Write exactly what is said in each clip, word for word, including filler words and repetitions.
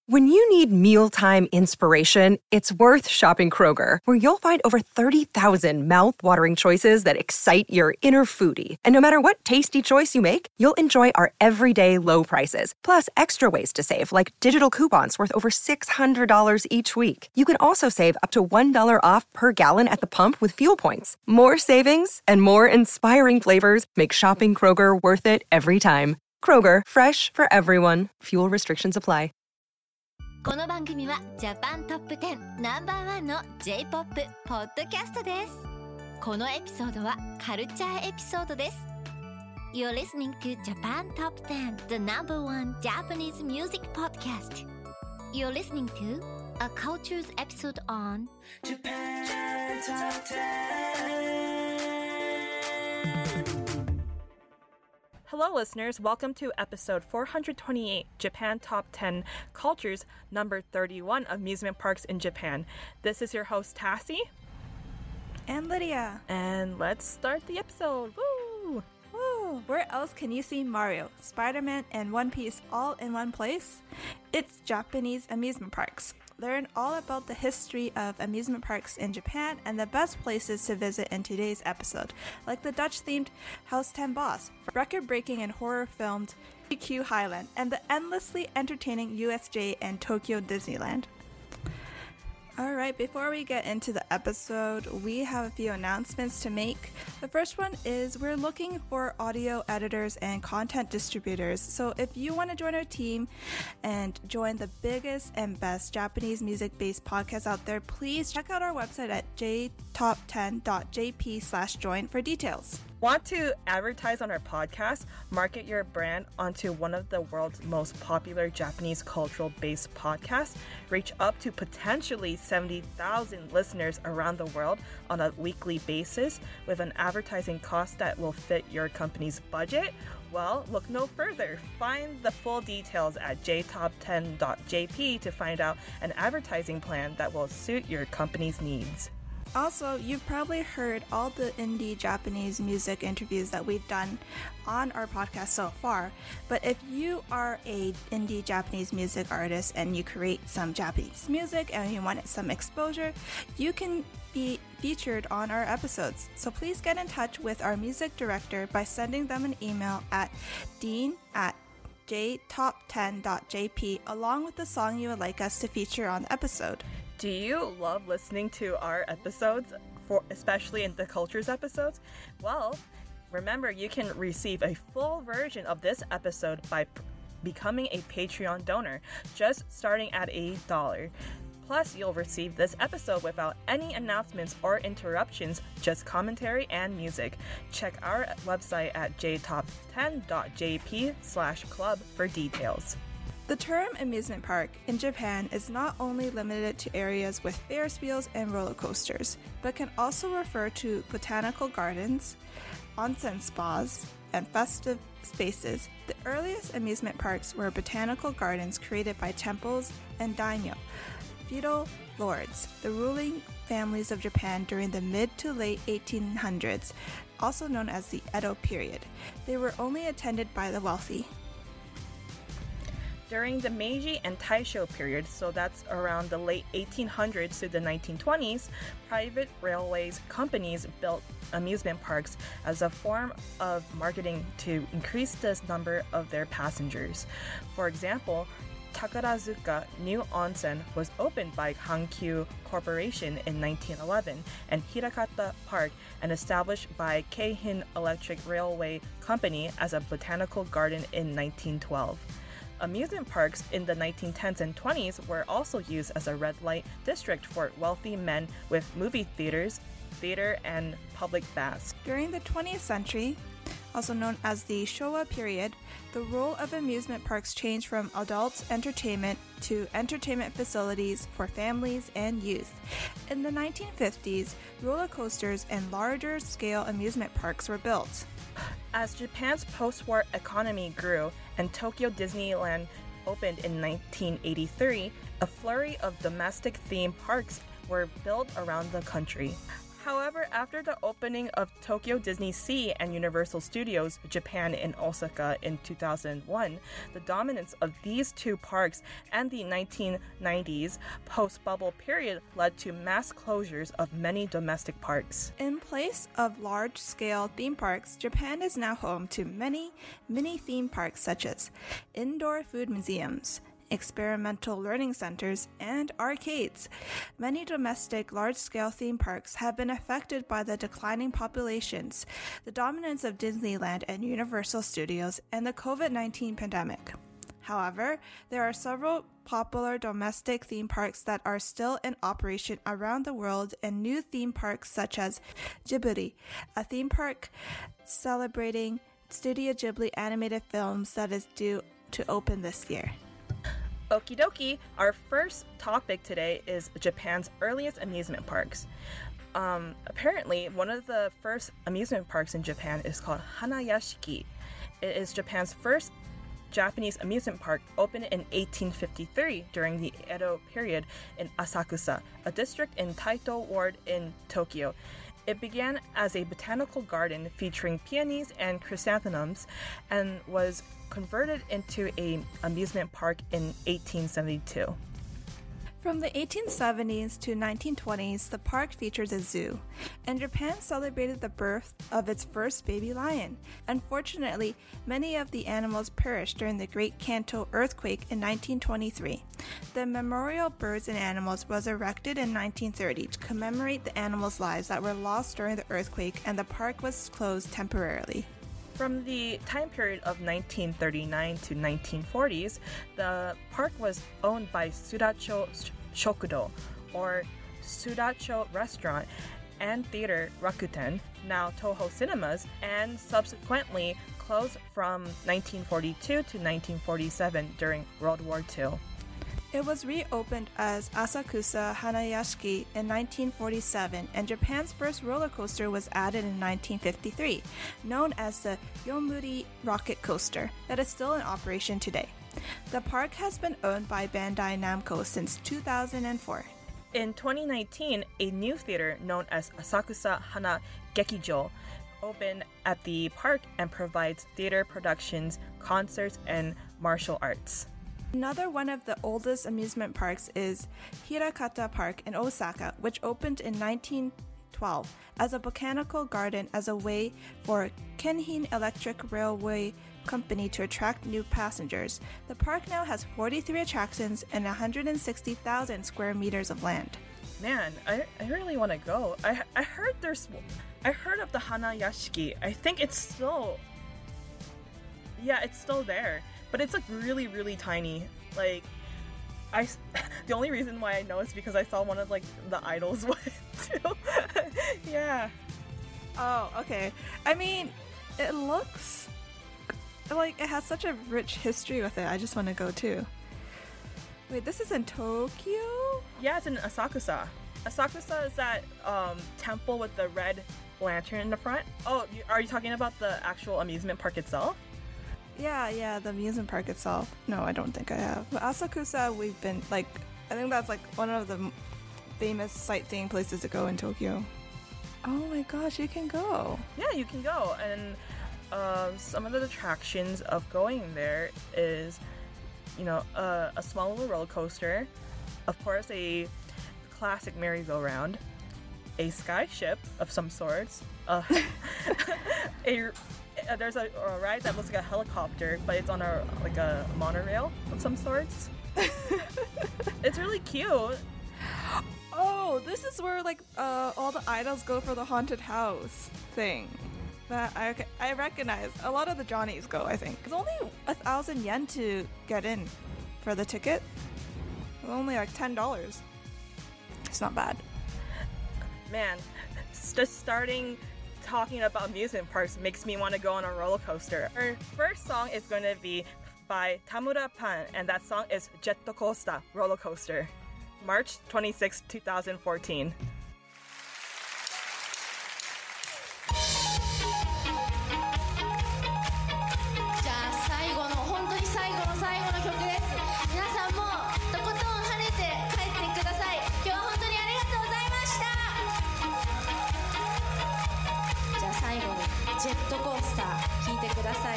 When you need mealtime inspiration, it's worth shopping Kroger, where you'll find over thirty thousand mouth-watering choices that excite your inner foodie. And no matter what tasty choice you make, you'll enjoy our everyday low prices, plus extra ways to save, like digital coupons worth over six hundred dollars each week. You can also save up to one dollar off per gallon at the pump with fuel points. More savings and more inspiring flavors make shopping Kroger worth it every time. Kroger, fresh for everyone. Fuel restrictions apply. この番組はジャパントップテンナンバーワンの J-ポップ ポッドキャストです。このエピソードはカルチャーエピソードです。You're listening to Japan Top ten, the number one Japanese music podcast. You're listening to a cultures episode on Japan Top ten. Hello, listeners. Welcome to episode four hundred twenty-eight, Japan Top ten Cultures, number thirty-one, Amusement Parks in Japan. This is your host, Tassie. And Lydia. And let's start the episode. Woo! Woo! Where else can you see Mario, Spider-Man, and One Piece all in one place? It's Japanese amusement parks. Learn all about the history of amusement parks in Japan and the best places to visit in today's episode, like the Dutch-themed House ten Boss, record-breaking and horror-filmed G Q Highland, and the endlessly entertaining U S J and Tokyo Disneyland. Alright, before we get into the episode, we have a few announcements to make. The first one is we're looking for audio editors and content distributors. So if you want to join our team and join the biggest and best Japanese music-based podcast out there, please check out our website at j top ten dot j p slash join for details. Want to advertise on our podcast? Market your brand onto one of the world's most popular Japanese cultural-based podcasts? Reach up to potentially seventy thousand listeners around the world on a weekly basis with an advertising cost that will fit your company's budget? Well, look no further. Find the full details at j top ten dot j p to find out an advertising plan that will suit your company's needs. Also, you've probably heard all the indie Japanese music interviews that we've done on our podcast so far, but if you are a indie Japanese music artist and you create some Japanese music and you want some exposure, you can be featured on our episodes. So please get in touch with our music director by sending them an email at dean at j top ten dot j p along with the song you would like us to feature on the episode. Do you love listening to our episodes, for especially in the cultures episodes? Well, remember you can receive a full version of this episode by p- becoming a Patreon donor, just starting at a dollar. Plus, you'll receive this episode without any announcements or interruptions, just commentary and music. Check our website at j top ten dot j p slash club for details. The term amusement park in Japan is not only limited to areas with Ferris wheels and roller coasters, but can also refer to botanical gardens, onsen spas, and festive spaces. The earliest amusement parks were botanical gardens created by temples and daimyo, feudal lords, the ruling families of Japan during the mid to late eighteen hundreds, also known as the Edo period. They were only attended by the wealthy. During the Meiji and Taisho period, so that's around the late eighteen hundreds to the nineteen twenties, private railways companies built amusement parks as a form of marketing to increase the number of their passengers. For example, Takarazuka New Onsen was opened by Hankyu Corporation in nineteen eleven, and Hirakata Park, and established by Keihin Electric Railway Company as a botanical garden in nineteen twelve. Amusement parks in the nineteen tens and twenties were also used as a red light district for wealthy men with movie theaters, theater, and public baths. During the twentieth century, also known as the Showa period, the role of amusement parks changed from adult entertainment to entertainment facilities for families and youth. In the nineteen fifties, roller coasters and larger-scale amusement parks were built. As Japan's post-war economy grew and Tokyo Disneyland opened in nineteen eighty-three, a flurry of domestic theme parks were built around the country. However, after the opening of Tokyo Disney Sea and Universal Studios Japan in Osaka in two thousand one, the dominance of these two parks and the nineteen nineties post-bubble period led to mass closures of many domestic parks. In place of large-scale theme parks, Japan is now home to many mini theme parks such as indoor food museums, experimental learning centers, and arcades. Many domestic large-scale theme parks have been affected by the declining populations, the dominance of Disneyland and Universal Studios, and the covid nineteen pandemic. However, there are several popular domestic theme parks that are still in operation around the world, and new theme parks such as Ghibli, a theme park celebrating Studio Ghibli animated films that is due to open this year. Okie dokie, our first topic today is Japan's earliest amusement parks. Um, apparently, one of the first amusement parks in Japan is called Hanayashiki. It is Japan's first Japanese amusement park, opened in eighteen fifty-three during the Edo period in Asakusa, a district in Taito Ward in Tokyo. It began as a botanical garden featuring peonies and chrysanthemums and was converted into an amusement park in eighteen seventy-two. From the eighteen seventies to nineteen twenties, the park features a zoo, and Japan celebrated the birth of its first baby lion. Unfortunately, many of the animals perished during the Great Kanto earthquake in nineteen twenty-three. The Memorial Birds and Animals was erected in nineteen thirty to commemorate the animals' lives that were lost during the earthquake, and the park was closed temporarily. From the time period of nineteen thirty-nine to nineteen forties, the park was owned by Sudacho Shokudo, or Sudacho Restaurant, and Theater Rakuten, now Toho Cinemas, and subsequently closed from nineteen forty-two to nineteen forty-seven during World War Two. It was reopened as Asakusa Hanayashiki in nineteen forty-seven, and Japan's first roller coaster was added in nineteen fifty-three, known as the Yomiuri Rocket Coaster, that is still in operation today. The park has been owned by Bandai Namco since two thousand four. In twenty nineteen, a new theater known as Asakusa Hana Gekijo opened at the park and provides theater productions, concerts, and martial arts. Another one of the oldest amusement parks is Hirakata Park in Osaka, which opened in nineteen twelve as a botanical garden as a way for Kenhin Electric Railway Company to attract new passengers. The park now has forty-three attractions and one hundred sixty thousand square meters of land. Man, I, I really want to go. I I heard there's I heard of the Hanayashiki. I think it's still yeah, it's still there. But it's like really, really tiny. Like, I, the only reason why I know is because I saw one of like the idols went too. Yeah. Oh, okay. I mean, it looks like it has such a rich history with it. I just want to go too. Wait, this is in Tokyo? Yeah, it's in Asakusa. Asakusa is that um, temple with the red lantern in the front. Oh, are you talking about the actual amusement park itself? Yeah, yeah, the amusement park itself. No, I don't think I have. But Asakusa, we've been, like, I think that's, like, one of the famous sightseeing places to go in Tokyo. Oh my gosh, you can go. Yeah, you can go. And uh, some of the attractions of going there is, you know, uh, a small little roller coaster, of course, a classic merry-go-round, a sky ship of some sorts, uh, a... Uh, there's a, a ride that looks like a helicopter, but it's on a like a monorail of some sorts. It's really cute. Oh, this is where like uh, all the idols go for the haunted house thing. That I I recognize. A lot of the Johnnies go. I think it's only a thousand yen to get in for the ticket. It's only like ten dollars. It's not bad. Man, just starting. Talking about amusement parks makes me want to go on a roller coaster. Our first song is going to be by Tamura Pan, and that song is Jet Coaster Roller Coaster, March twenty-sixth, twenty fourteen. 「 ジェットコースター聞いてください。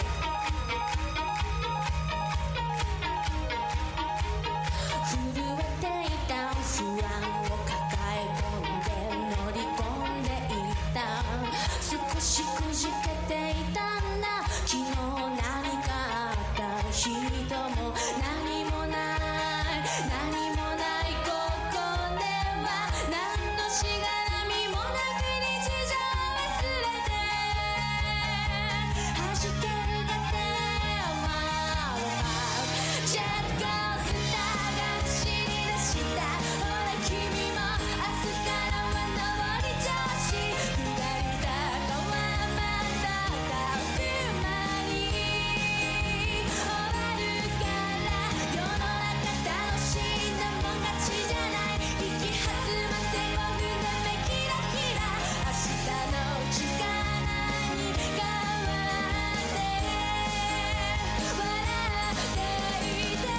震えていた不安を抱え込んで乗り込んでいった。少しくじけていたんだ。昨日何かあった人も何もない何もないここでは何のしがらみもなく日常忘れて弾けるだけはジェットコースターが走り出した。ほら君も明日からは上り調子。下り坂はまだ遠くまに終わるから。世の中楽しんだもん勝ちじゃない。息弾ませごふんで目キラキラ。明日の力に変わって笑っていて。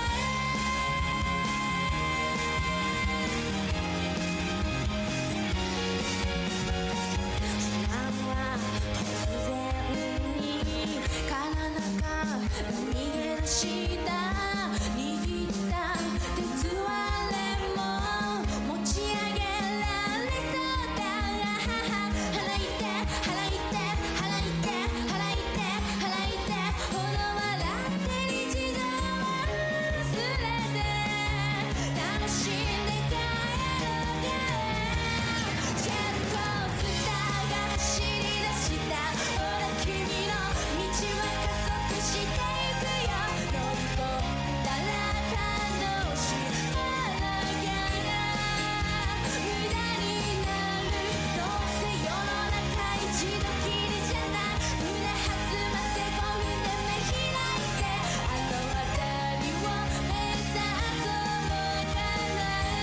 不安は突然に体が逃げ出した。握った鉄割れも持ち上げられそうだ。払いて払いて払いて払いて払いて。ほら笑って日常は忘れて楽しんで帰ろうか。ジェットコースターが走り出した。ほら君の道は加速していくよ。乗り込んだら楽しい笑いが無駄になる。どうせ世の中一度きりじゃない。胸弾ませごふんで目開いて。あの辺りを目指そうかな。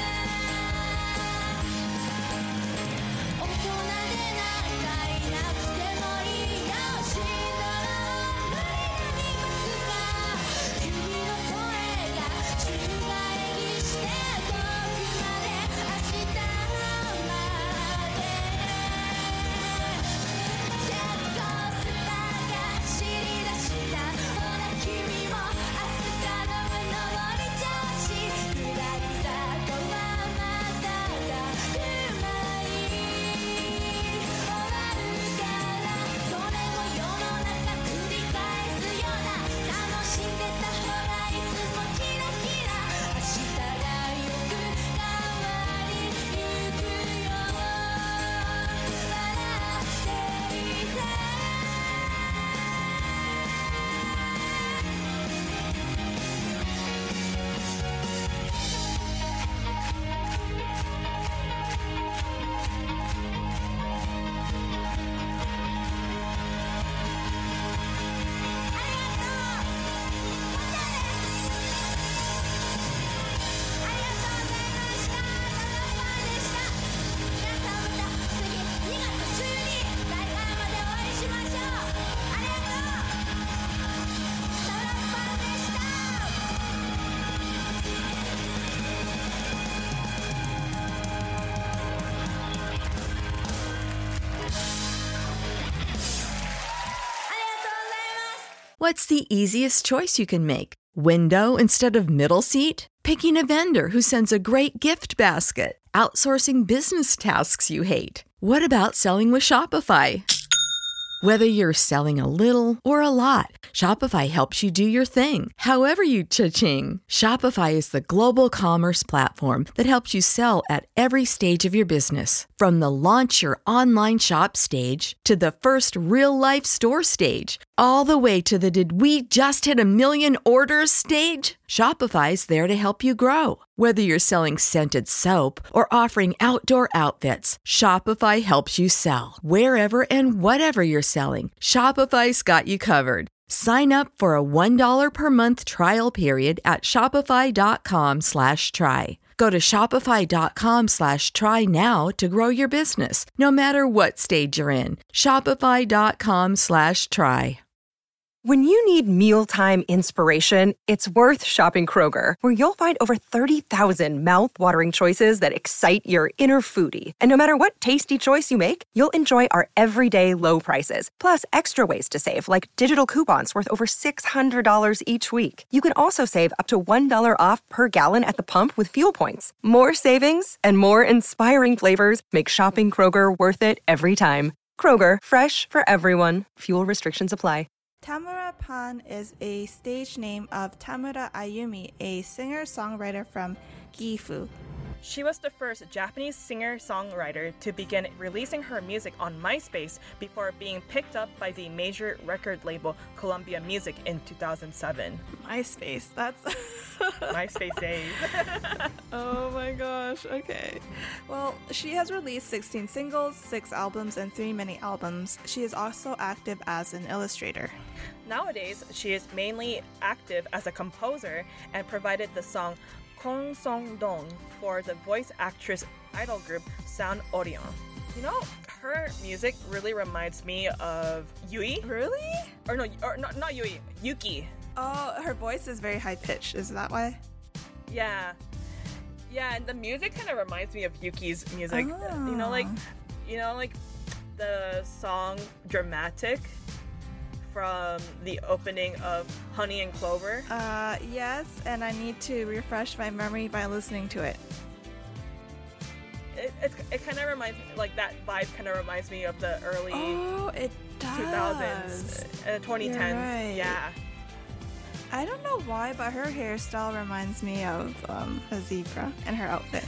大人でなんかいなくてもいいよ。死んだら無理に待つか。君の声が宙返りして遠くまで明日まで。ジェットコースターが走り出した。ほら君も明日からは上り調子。下り坂はまだ遠くまに終わるから。それを世の中繰り返すような。楽しんでた方がいつもキラキラ。明日がよく変わりゆくよ。笑っていて。 What's the easiest choice you can make? Window instead of middle seat? Picking a vendor who sends a great gift basket? Outsourcing business tasks you hate? What about selling with Shopify? Whether you're selling a little or a lot, Shopify helps you do your thing, however you cha-ching. Shopify is the global commerce platform that helps you sell at every stage of your business. From the launch your online shop stage to the first real-life store stage, all the way to the did we just hit a million orders stage. Shopify's there to help you grow. Whether you're selling scented soap or offering outdoor outfits, Shopify helps you sell. Wherever and whatever you're selling, Shopify's got you covered. Sign up for a one dollar per month trial period at shopify.com slash try. Go to shopify.com slash try now to grow your business, no matter what stage you're in. Shopify.com slash try. When you need mealtime inspiration, it's worth shopping Kroger, where you'll find over thirty thousand mouth-watering choices that excite your inner foodie. And no matter what tasty choice you make, you'll enjoy our everyday low prices, plus extra ways to save, like digital coupons worth over six hundred dollars each week. You can also save up to one dollar off per gallon at the pump with fuel points. More savings and more inspiring flavors make shopping Kroger worth it every time. Kroger, fresh for everyone. Fuel restrictions apply. Tamura Pan is a stage name of Tamura Ayumi, a singer-songwriter from Gifu. She was the first Japanese singer-songwriter to begin releasing her music on MySpace before being picked up by the major record label Columbia Music in two thousand seven. MySpace, that's... MySpace days. Oh my gosh, okay. Well, she has released sixteen singles, six albums, and three mini-albums. She is also active as an illustrator. Nowadays, she is mainly active as a composer and provided the song Kong Song Dong for the voice actress idol group Sound Orion. You know, her music really reminds me of Yui. Really? Or no, or not, not Yui, Yuki. Oh, her voice is very high-pitched, is that why? Yeah. Yeah, and the music kind of reminds me of Yuki's music. Oh. You know, like, you know, like the song Dramatic from the opening of Honey and Clover. Uh, yes, and I need to refresh my memory by listening to it. It it, it kind of reminds me, like that vibe kind of reminds me of the early Oh, it does. two thousands, uh, twenty tens. You're right. Yeah. I don't know why, but her hairstyle reminds me of um, a zebra and her outfit.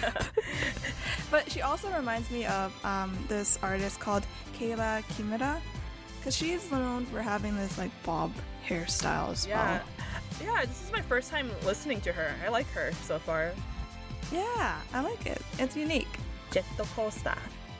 But she also reminds me of um, this artist called Kayla Kimura, because she's known for having this like bob hairstyle as Yeah. well. Yeah, this is my first time listening to her. I like her so far. Yeah, I like it. It's unique. Jetto Costa.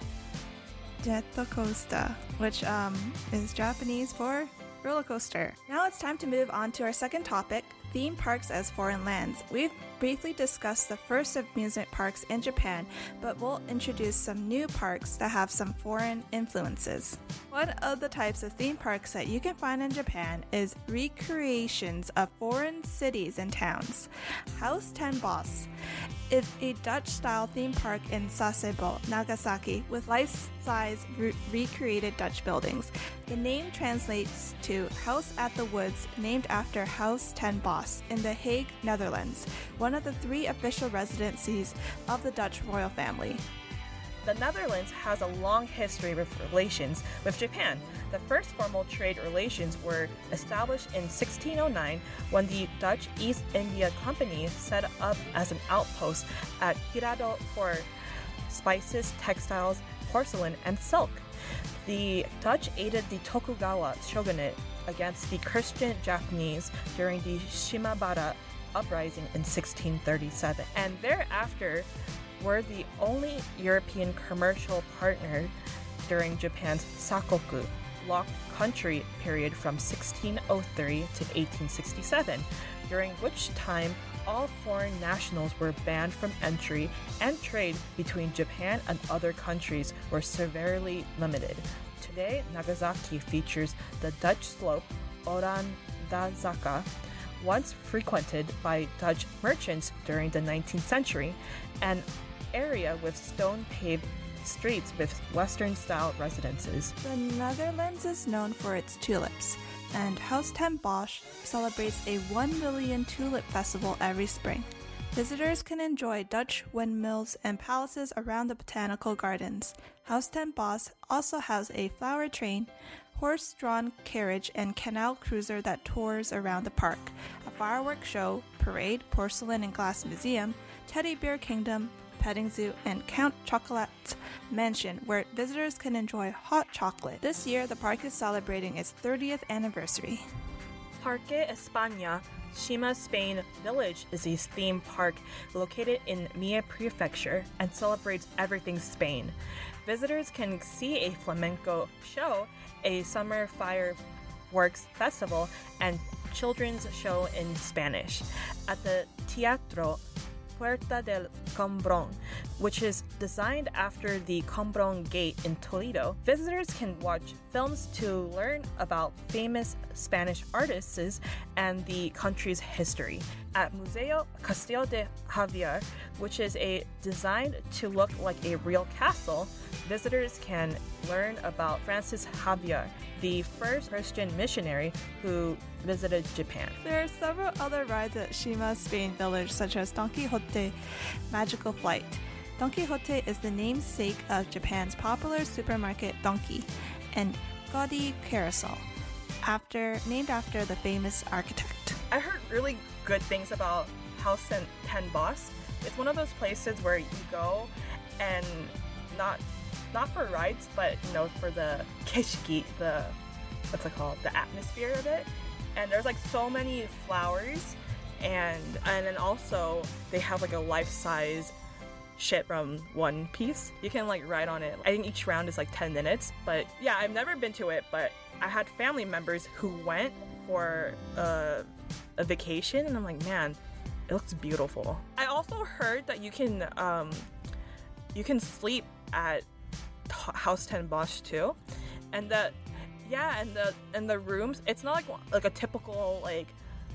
Jetto Costa, which um, is Japanese for roller coaster. Now it's time to move on to our second topic, theme parks as foreign lands. We've briefly discussed the first amusement parks in Japan, but we'll introduce some new parks that have some foreign influences. One of the types of theme parks that you can find in Japan is recreations of foreign cities and towns. House ten Boss is a Dutch-style theme park in Sasebo, Nagasaki, with life-size re- recreated Dutch buildings. The name translates to House at the Woods, named after House ten Bosch in The Hague, Netherlands, one of the three official residencies of the Dutch royal family. The Netherlands has a long history of relations with Japan. The first formal trade relations were established in sixteen oh nine when the Dutch East India Company set up as an outpost at Hirado for spices, textiles, porcelain, and silk. The Dutch aided the Tokugawa shogunate against the Christian Japanese during the Shimabara uprising in sixteen thirty-seven, and thereafter were the only European commercial partner during Japan's Sakoku locked country period from sixteen oh three to eighteen sixty-seven, during which time all foreign nationals were banned from entry and trade between Japan and other countries were severely limited. Today, Nagasaki features the Dutch slope Orandazaka, once frequented by Dutch merchants during the nineteenth century, an area with stone-paved streets with Western-style residences. The Netherlands is known for its tulips, and House ten Bosch celebrates a one million tulip festival every spring. Visitors can enjoy Dutch windmills and palaces around the botanical gardens. House ten Bosch also has a flower train, horse-drawn carriage, and canal cruiser that tours around the park, a fireworks show, parade, porcelain and glass museum, teddy bear kingdom, petting zoo, and Count Chocolate's mansion, where visitors can enjoy hot chocolate. This year, the park is celebrating its thirtieth anniversary. Parque España, Shima, Spain Village is a theme park located in Mie Prefecture and celebrates everything Spain. Visitors can see a flamenco show, a summer fireworks festival, and children's show in Spanish. At the Teatro Puerta del Cambrón, which is designed after the Combron Gate in Toledo. Visitors can watch films to learn about famous Spanish artists and the country's history. At Museo Castillo de Javier, which is a designed to look like a real castle, visitors can learn about Francis Javier, the first Christian missionary who visited Japan. There are several other rides at Shima Spain Village, such as Don Quixote Magical Flight. Don Quixote is the namesake of Japan's popular supermarket Donkey, and Gaudi Carousel, after named after the famous architect. I heard really good things about House ten Boss. It's one of those places where you go and not not for rides, but you know, for the keshiki, the what's it called, the atmosphere of it. And there's like so many flowers, and and then also they have like a life-size ship from One Piece. You can like ride on it. I think each round is like ten minutes, but yeah, I've never been to it, but I had family members who went for a, a vacation, and I'm like, man, it looks beautiful. I also heard that you can um, you can sleep at House ten Bosch too, and that yeah, and the and the rooms, it's not like like a typical like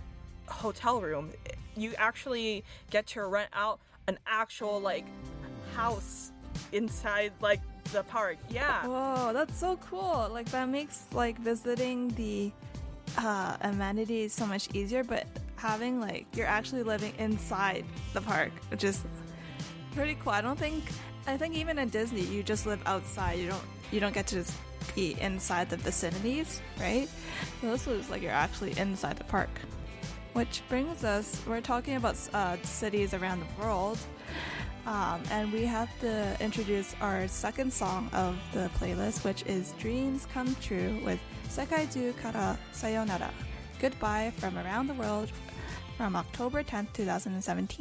hotel room. You actually get to rent out an actual like house inside like the park. Yeah. Whoa, that's so cool. Like that makes like visiting the uh, amenities so much easier, but having like you're actually living inside the park, which is pretty cool. I don't think I think even in Disney you just live outside. You don't you don't get to just be inside the vicinities, right? So this was like you're actually inside the park. Which brings us, we're talking about uh, cities around the world, um, and we have to introduce our second song of the playlist, which is Dreams Come True with Sekaizu Kara Sayonara, Goodbye from Around the World, from October tenth, twenty seventeen.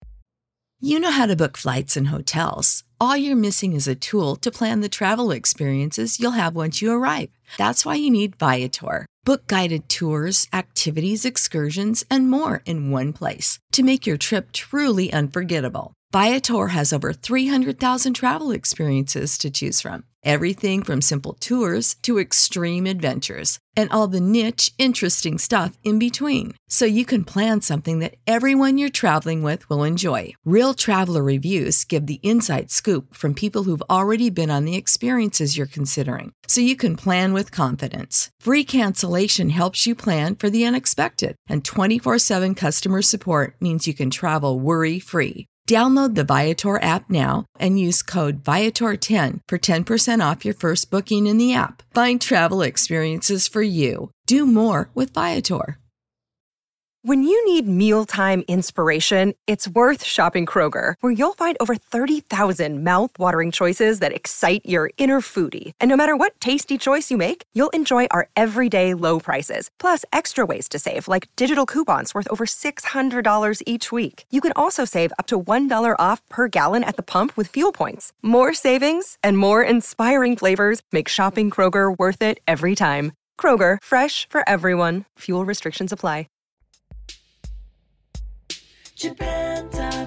You know how to book flights and hotels. All you're missing is a tool to plan the travel experiences you'll have once you arrive. That's why you need Viator. Book guided tours, activities, excursions, and more in one place to make your trip truly unforgettable. Viator has over three hundred thousand travel experiences to choose from. Everything from simple tours to extreme adventures and all the niche, interesting stuff in between. So you can plan something that everyone you're traveling with will enjoy. Real traveler reviews give the inside scoop from people who've already been on the experiences you're considering. So you can plan with confidence. Free cancellation helps you plan for the unexpected. And twenty-four seven customer support means you can travel worry-free. Download the Viator app now and use code Viator ten for ten percent off your first booking in the app. Find travel experiences for you. Do more with Viator. When you need mealtime inspiration, it's worth shopping Kroger, where you'll find over thirty thousand mouth-watering choices that excite your inner foodie. And no matter what tasty choice you make, you'll enjoy our everyday low prices, plus extra ways to save, like digital coupons worth over six hundred dollars each week. You can also save up to one dollar off per gallon at the pump with fuel points. More savings and more inspiring flavors make shopping Kroger worth it every time. Kroger, fresh for everyone. Fuel restrictions apply. Japan time.